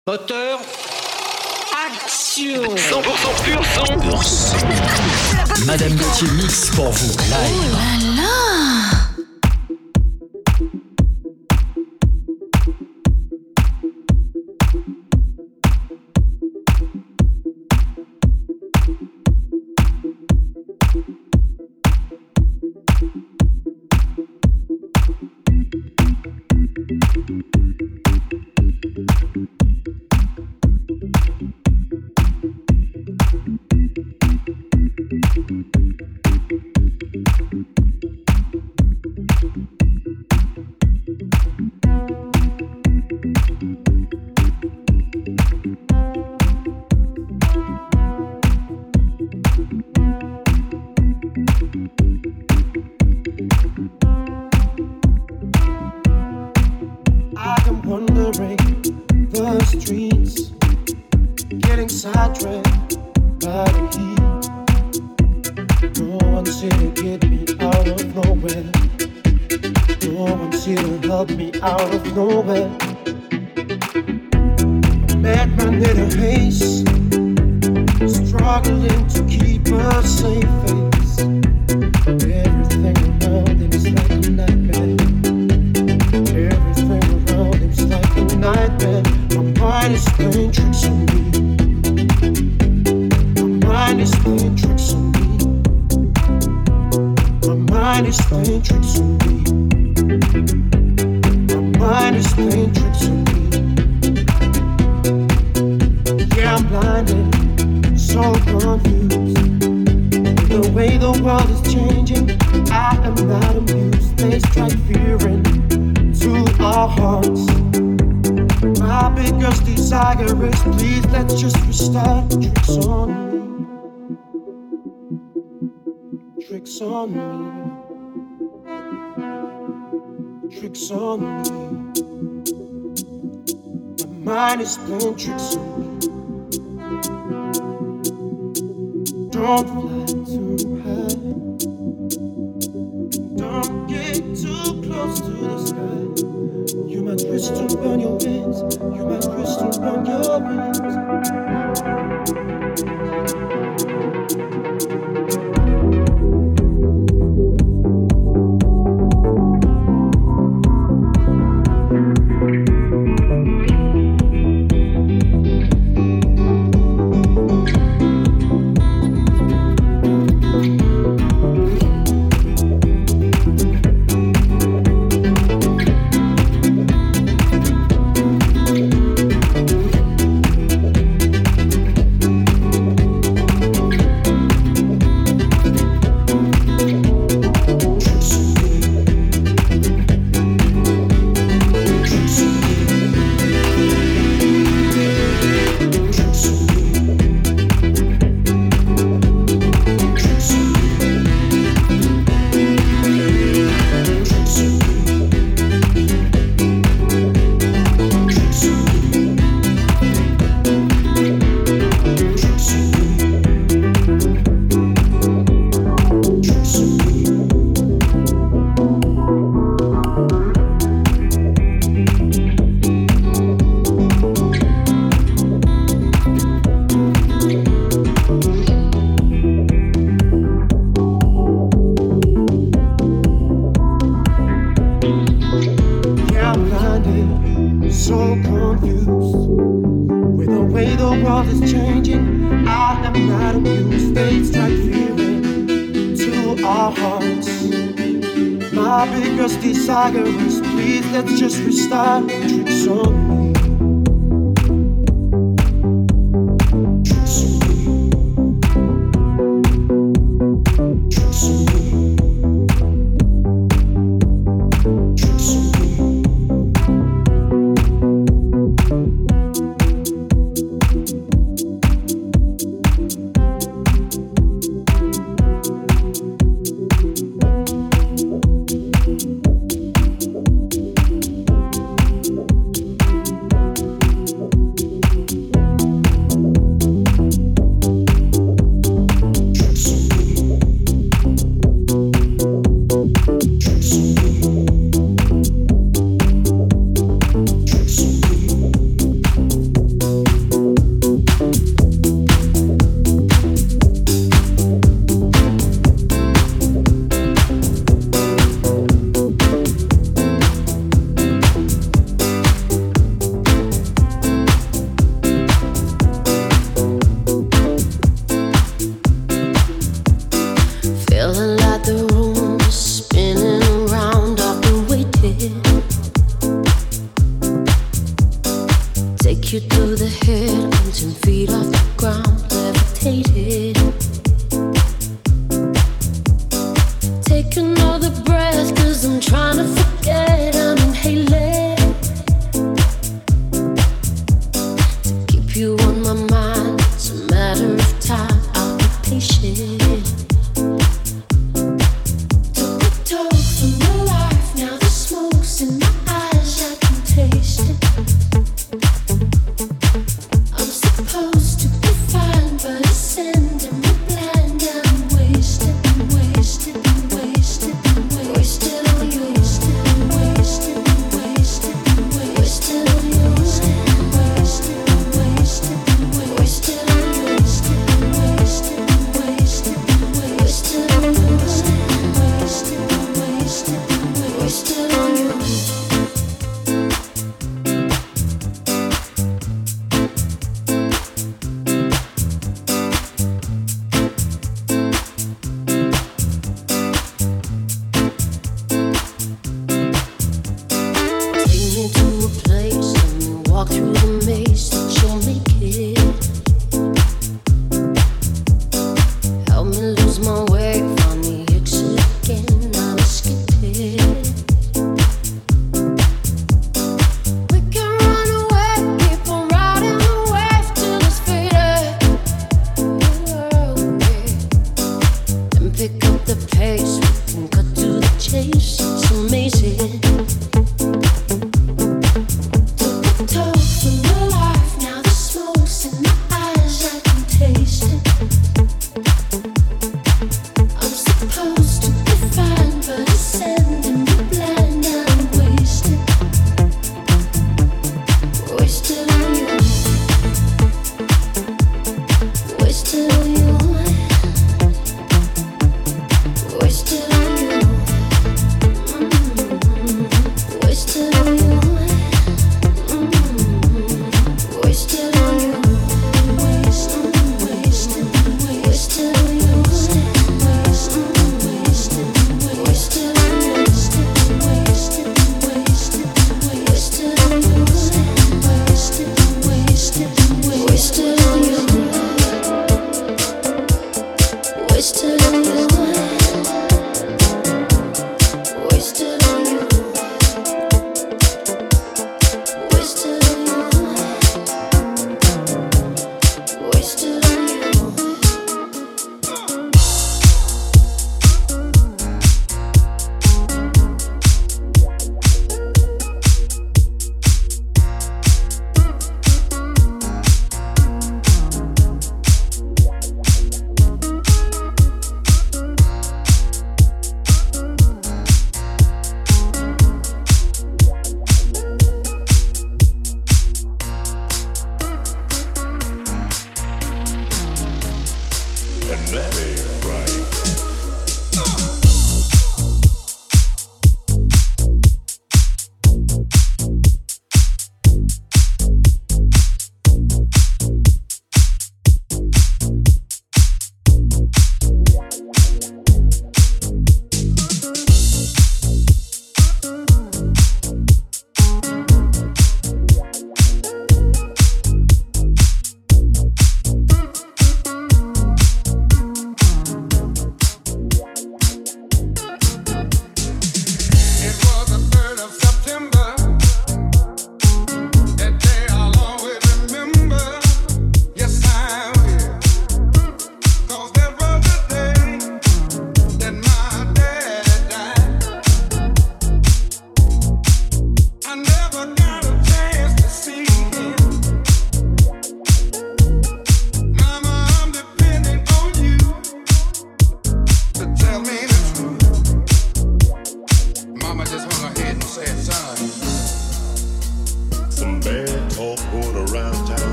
Moteur, action. 100% pur son. Madame Gauthier mix pour vous, live. Oh là là. Is playing tricks on me. Don't fly too high. Don't get too close to the sky. You might twist and burn your wings. You might twist and burn your wings. Please, let's just restart. Tricks on me. Take you through the head, I'm 10 feet off the ground, levitated. Take another breath, cause I'm trying to forget, I'm inhaling. To keep you on my mind, it's a matter of time, I'll be patient. Took a toll from your life, now the smoke's in my eyes, I can taste it. I'm supposed to be fine, but it's sending me blind. I'm wasted, wasted, wasted, wasted on you, wasted, wasted, wasted, wasted on you, wasted, wasted, wasted on you, wasted, wasted, wasted, wasted on you, wasted, wasted, wasted on you. Take me to a place, let me walk through the maze that you'll make it. Help me lose my way, find the exit again, I'll escape it. We can run away, keep on riding the wave till it's faded. And pick up the pace, we can cut to the chase, it's amazing. Told from your life, now the smoke's in my eyes, I can taste it. I'm supposed to be fine, but it's sending me blind. I'm wasted, wasted on you, wasted on you, wasted on you, wasted on you. Wasted on you, wasted, wasted, wasted on you, wasted, wasted, wasted on you, wasted, wasted, wasted on you, wasted, wasted, wasted on you, wasted on you, wasted on you. Wasted on you, wasted on you.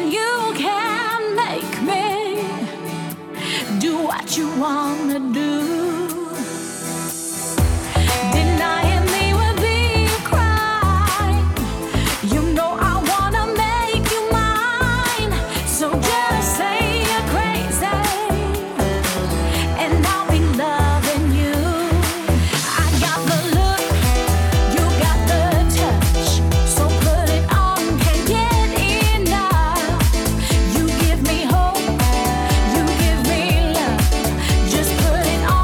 you can make me do what you wanna do. Denying me would be a crime. You know I wanna make you mine. So just say you're crazy, and I'll be loving you. I got the look, you got the touch. So put it on, can't get enough. You give me hope, you give me love. Just put it on.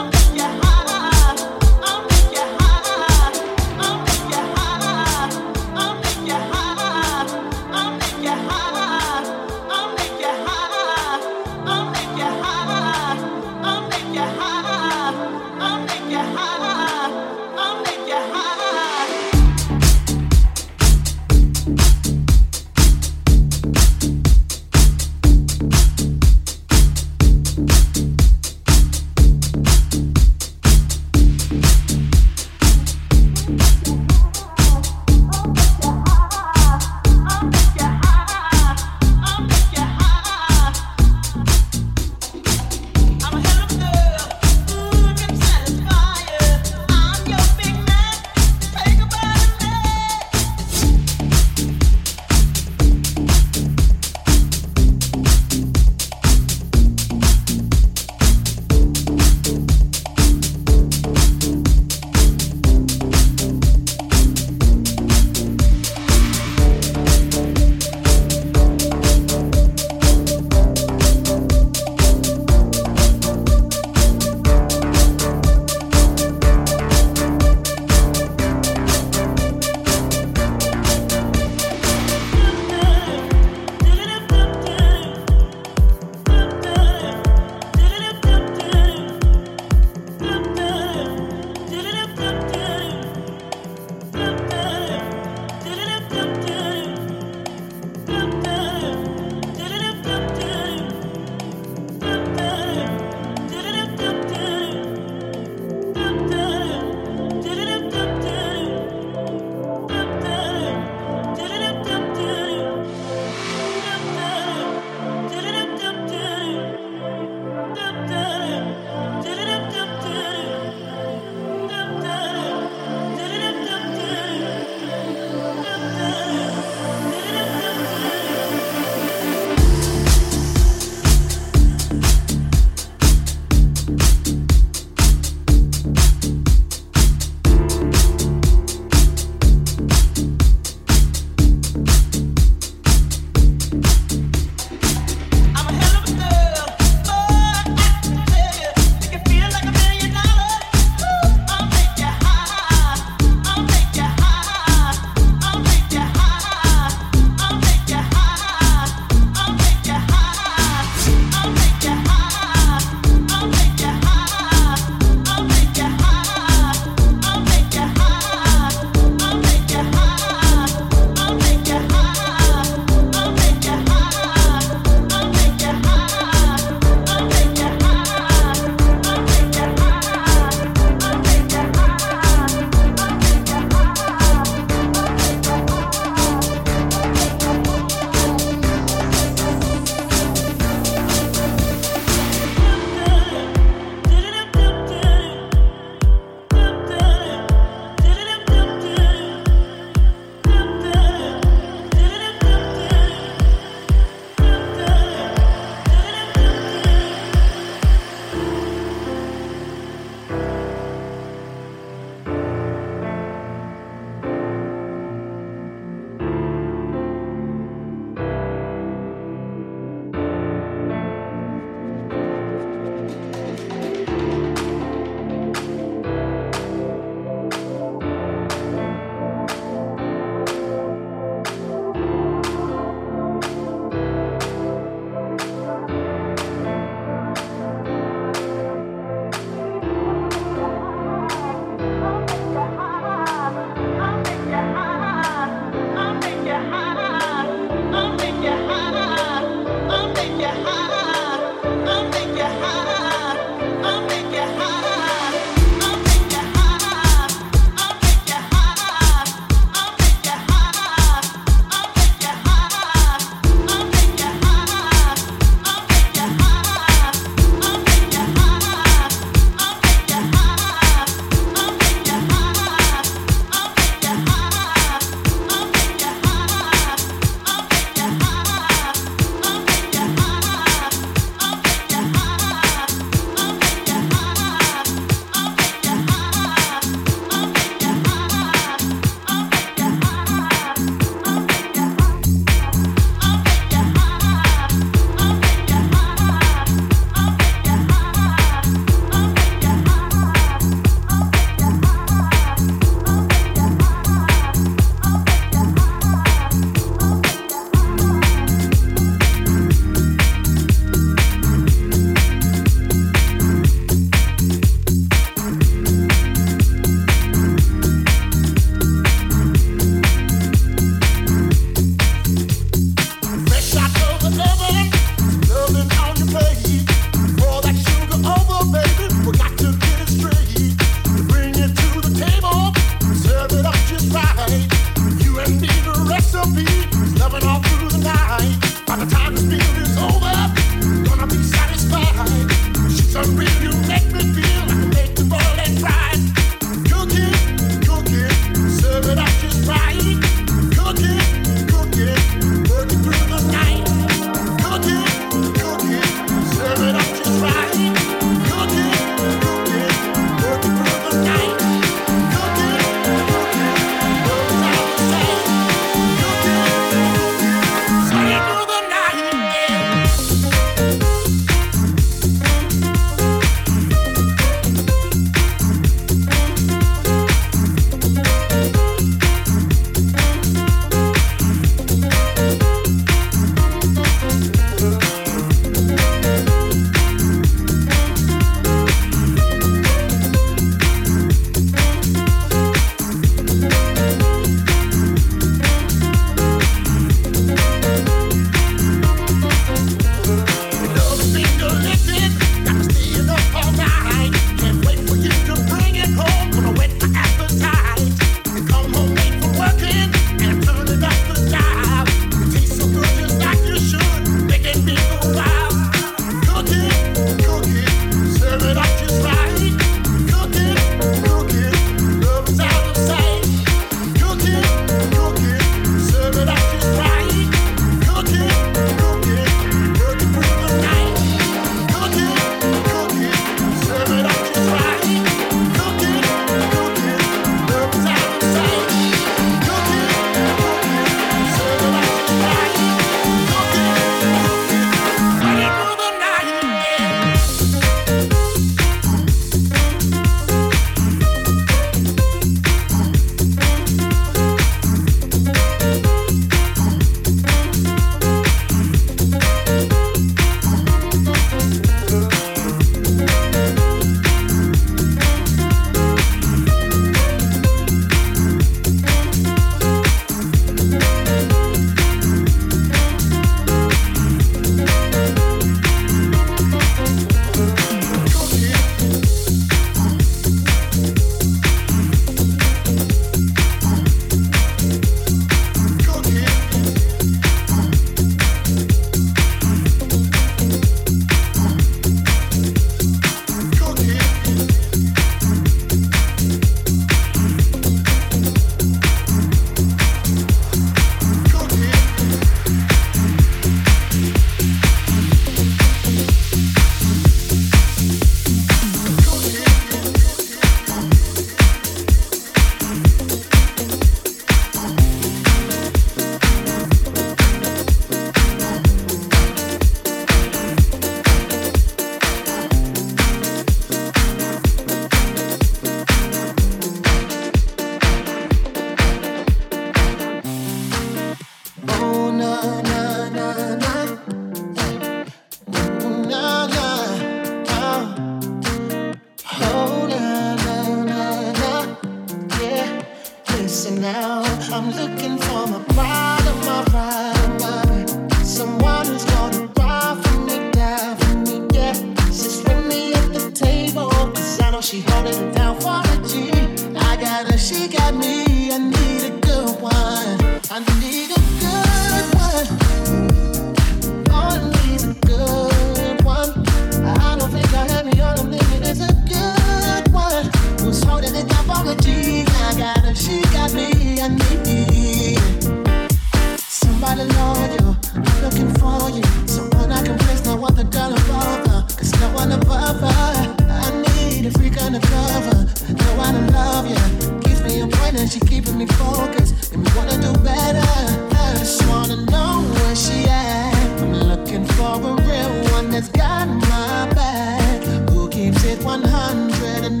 she holding it down for a G. I got her, she got me. I need a good one. I need a good one. All I need is a good one. I don't think I have me on a limit. It's a good one. Who's holding it down for a G? I got her, she got me. I need somebody loyal. I'm looking for you. Someone I can place, no other girl above her. Cause no one above her. I need a freak undercover. Know how to love you. Keeps me on point and she keeping me focused. And me wanna do better. I just wanna know where she at. I'm looking for a real one that's got my back. Who keeps it 100 and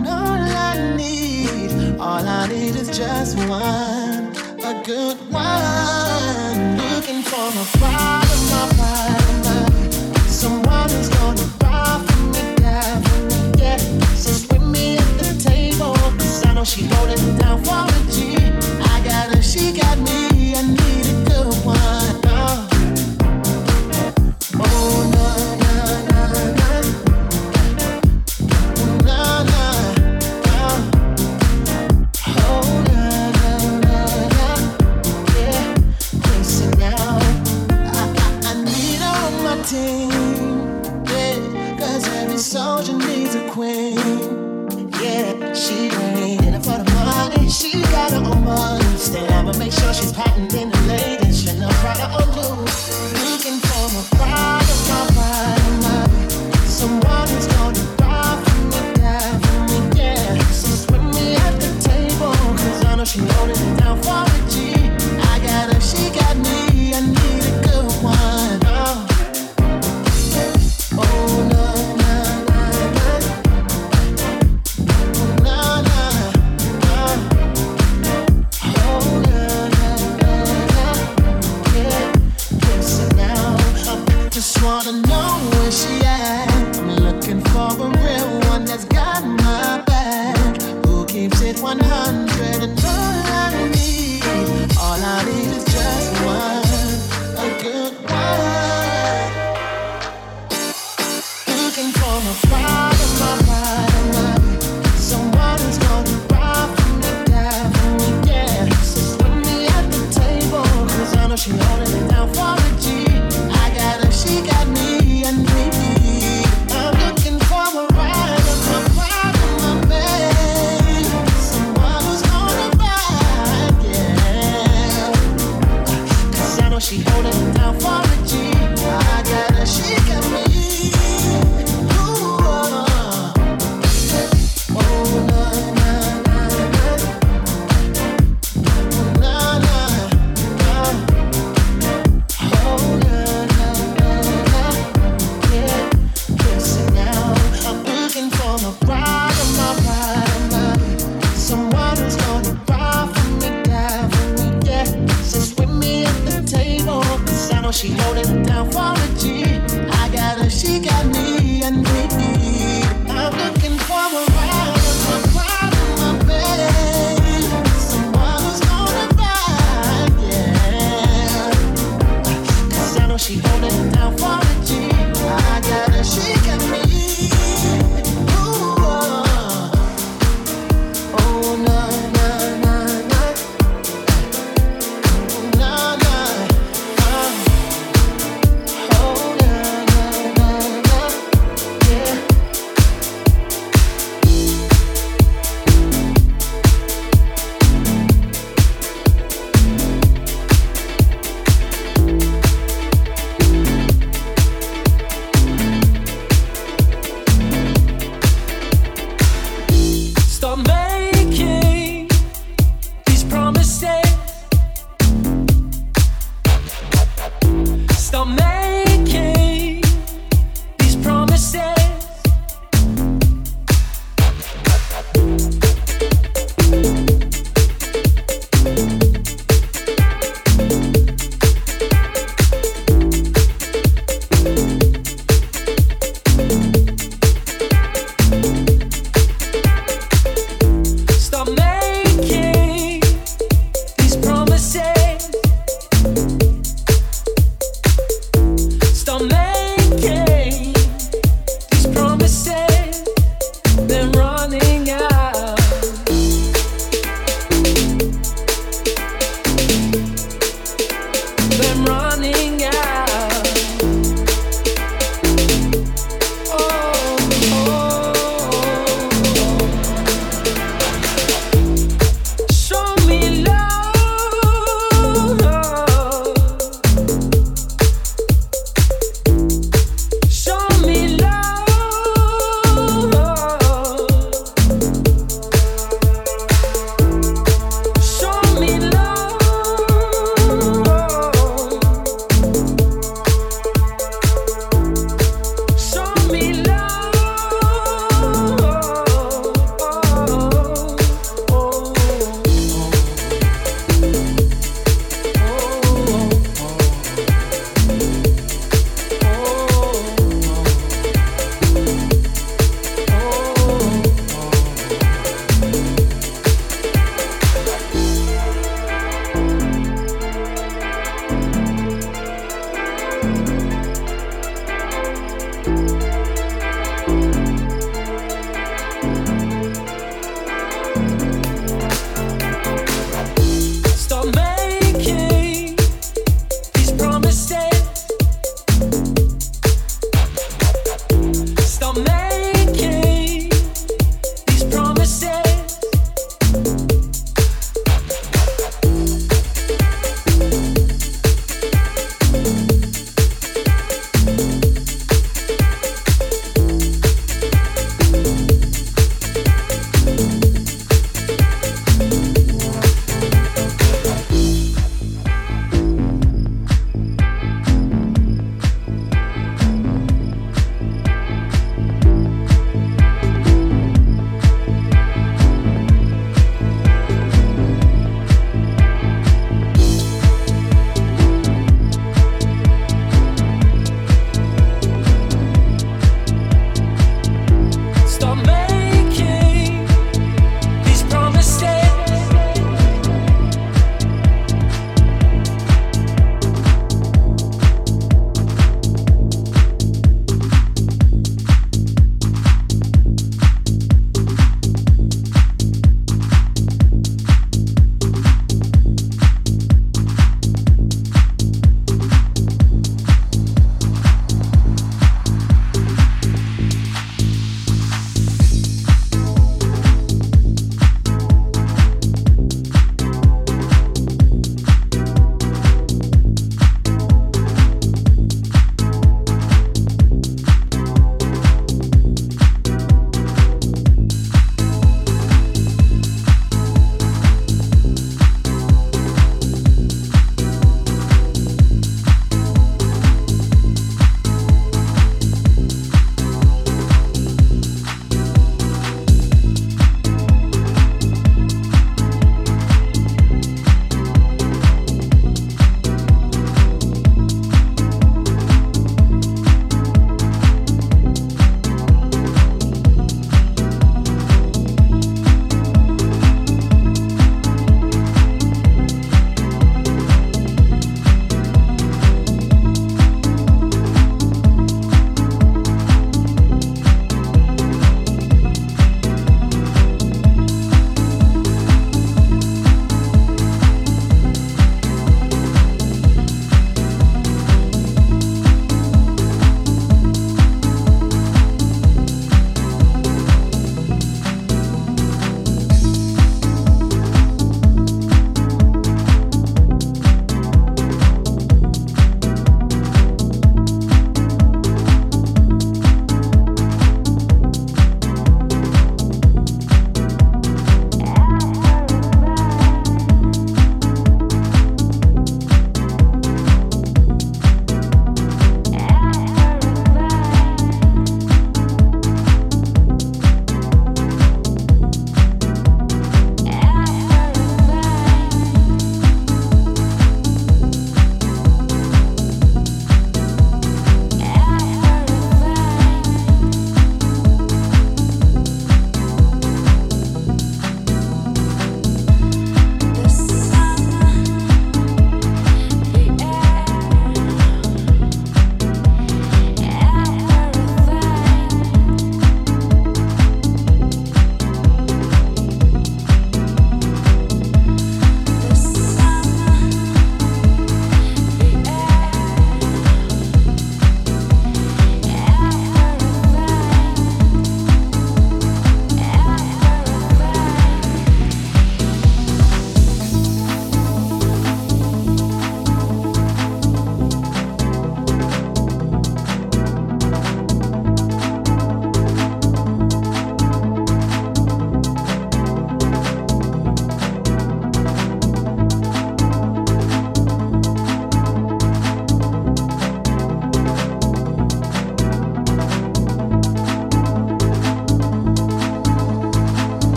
all I need is just one. A good one. Looking for a bottom, someone who's gonna ride for me, die for me, yeah. Sit with me at the table, cause I know she holding it down for a G. I got her, she got me, I need a good one. Oh, na na na na. Na na na. Oh, na na na na. Yeah, listen now. I need her on my team. Yeah, cause every soldier needs a queen. Yeah, she ain't in it for the money. She got her own money. Stand but make sure she's patenting the latest. Chanel, Prada, or Louis. Looking for a bride, someone who's gonna ride for me, die for me, yeah. Sit with me at the table, cause I know she holding it down for a G. I got her, she got me, I need a good one. Oh, no, no, no, no. No, no, no. Oh, no, no, no, no. Yeah, listen now. I just wanna know where she at. I'm looking for a real one that's got my back. Who keeps it 100 and all I need is just one, a good one. Looking for a bottom, someone who's gonna ride for me, die for me, yeah. Sit with me at the table, cause I know she holding it down for a G. I got her, she got me, I need. I'm looking for a ride, my babe. Someone who's gonna ride, yeah. Cause I know she holding it down for a G. I got her, she got me. Ooh,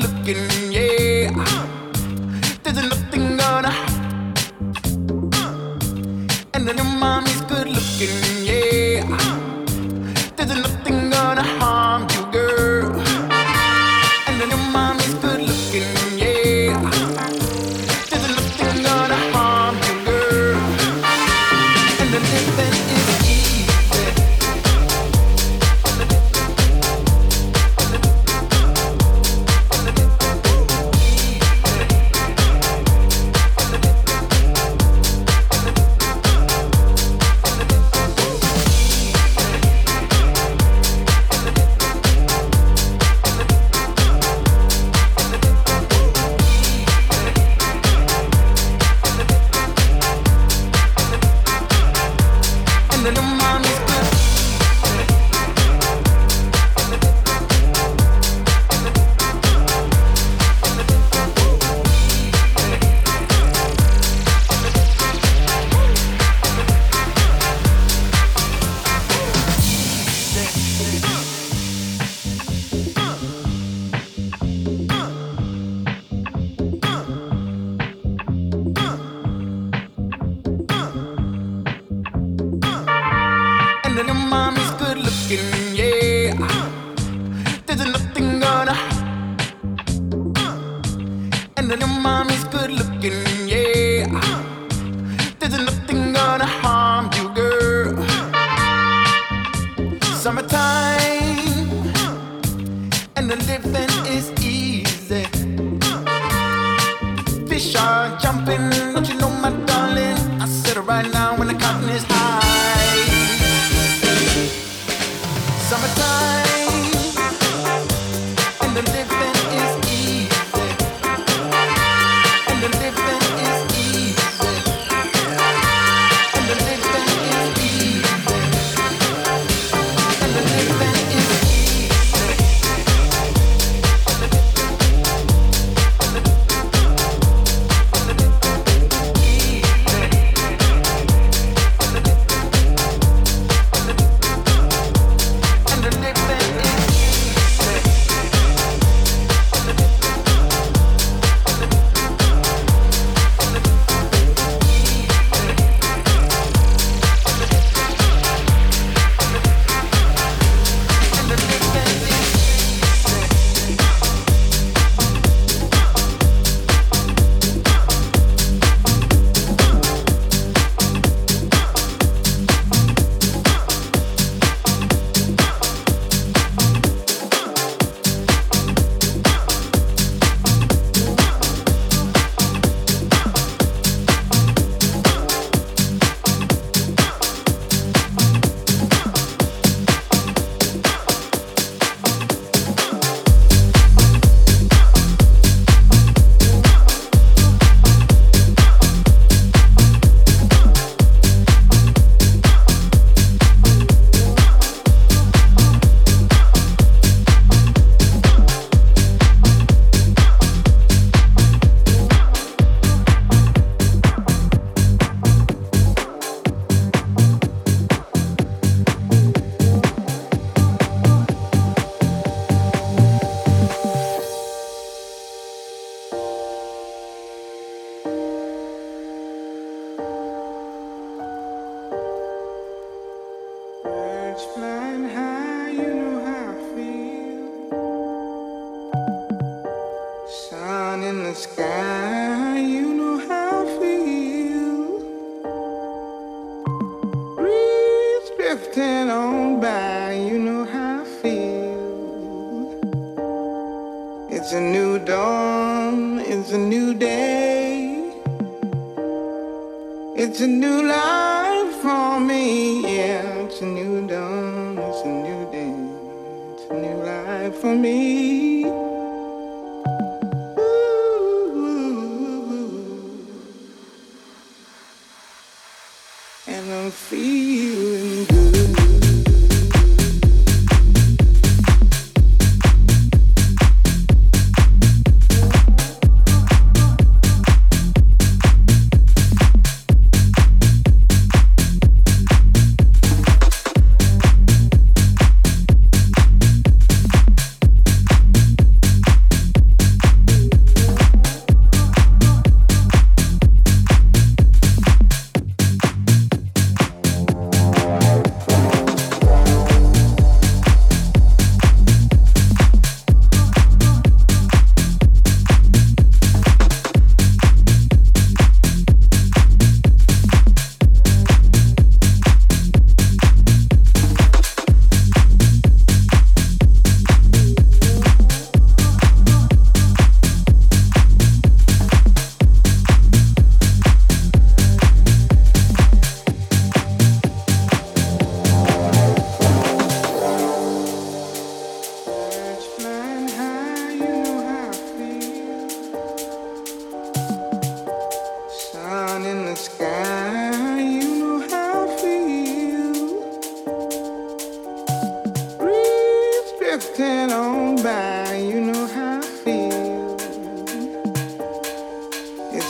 looking, yeah. There's nothing gonna. And then your mommy's good looking, yeah. There's nothing gonna harm you, girl. And then your mommy's good looking, yeah. There's nothing gonna harm you, girl. And then living is easy.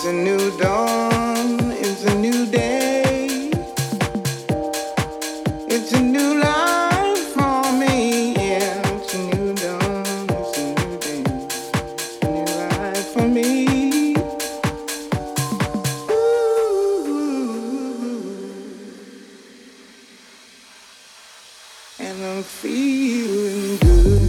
It's a new dawn, it's a new day, it's a new life for me. Yeah, it's a new dawn, it's a new day, it's a new life for me. Ooh, and I'm feeling good.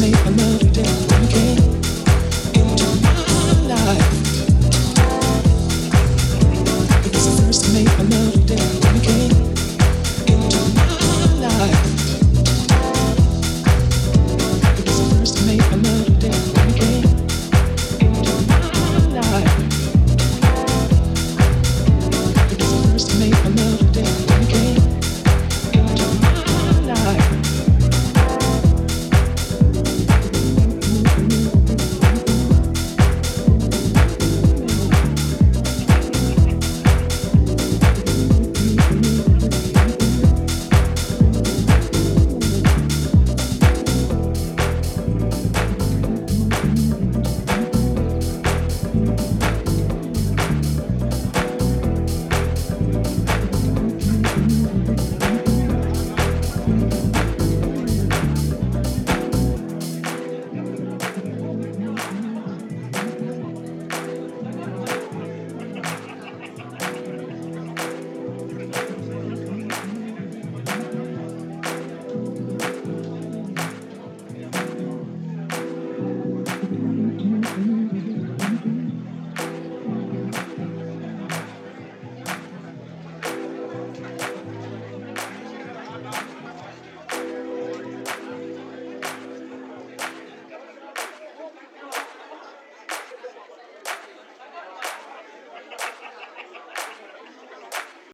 me another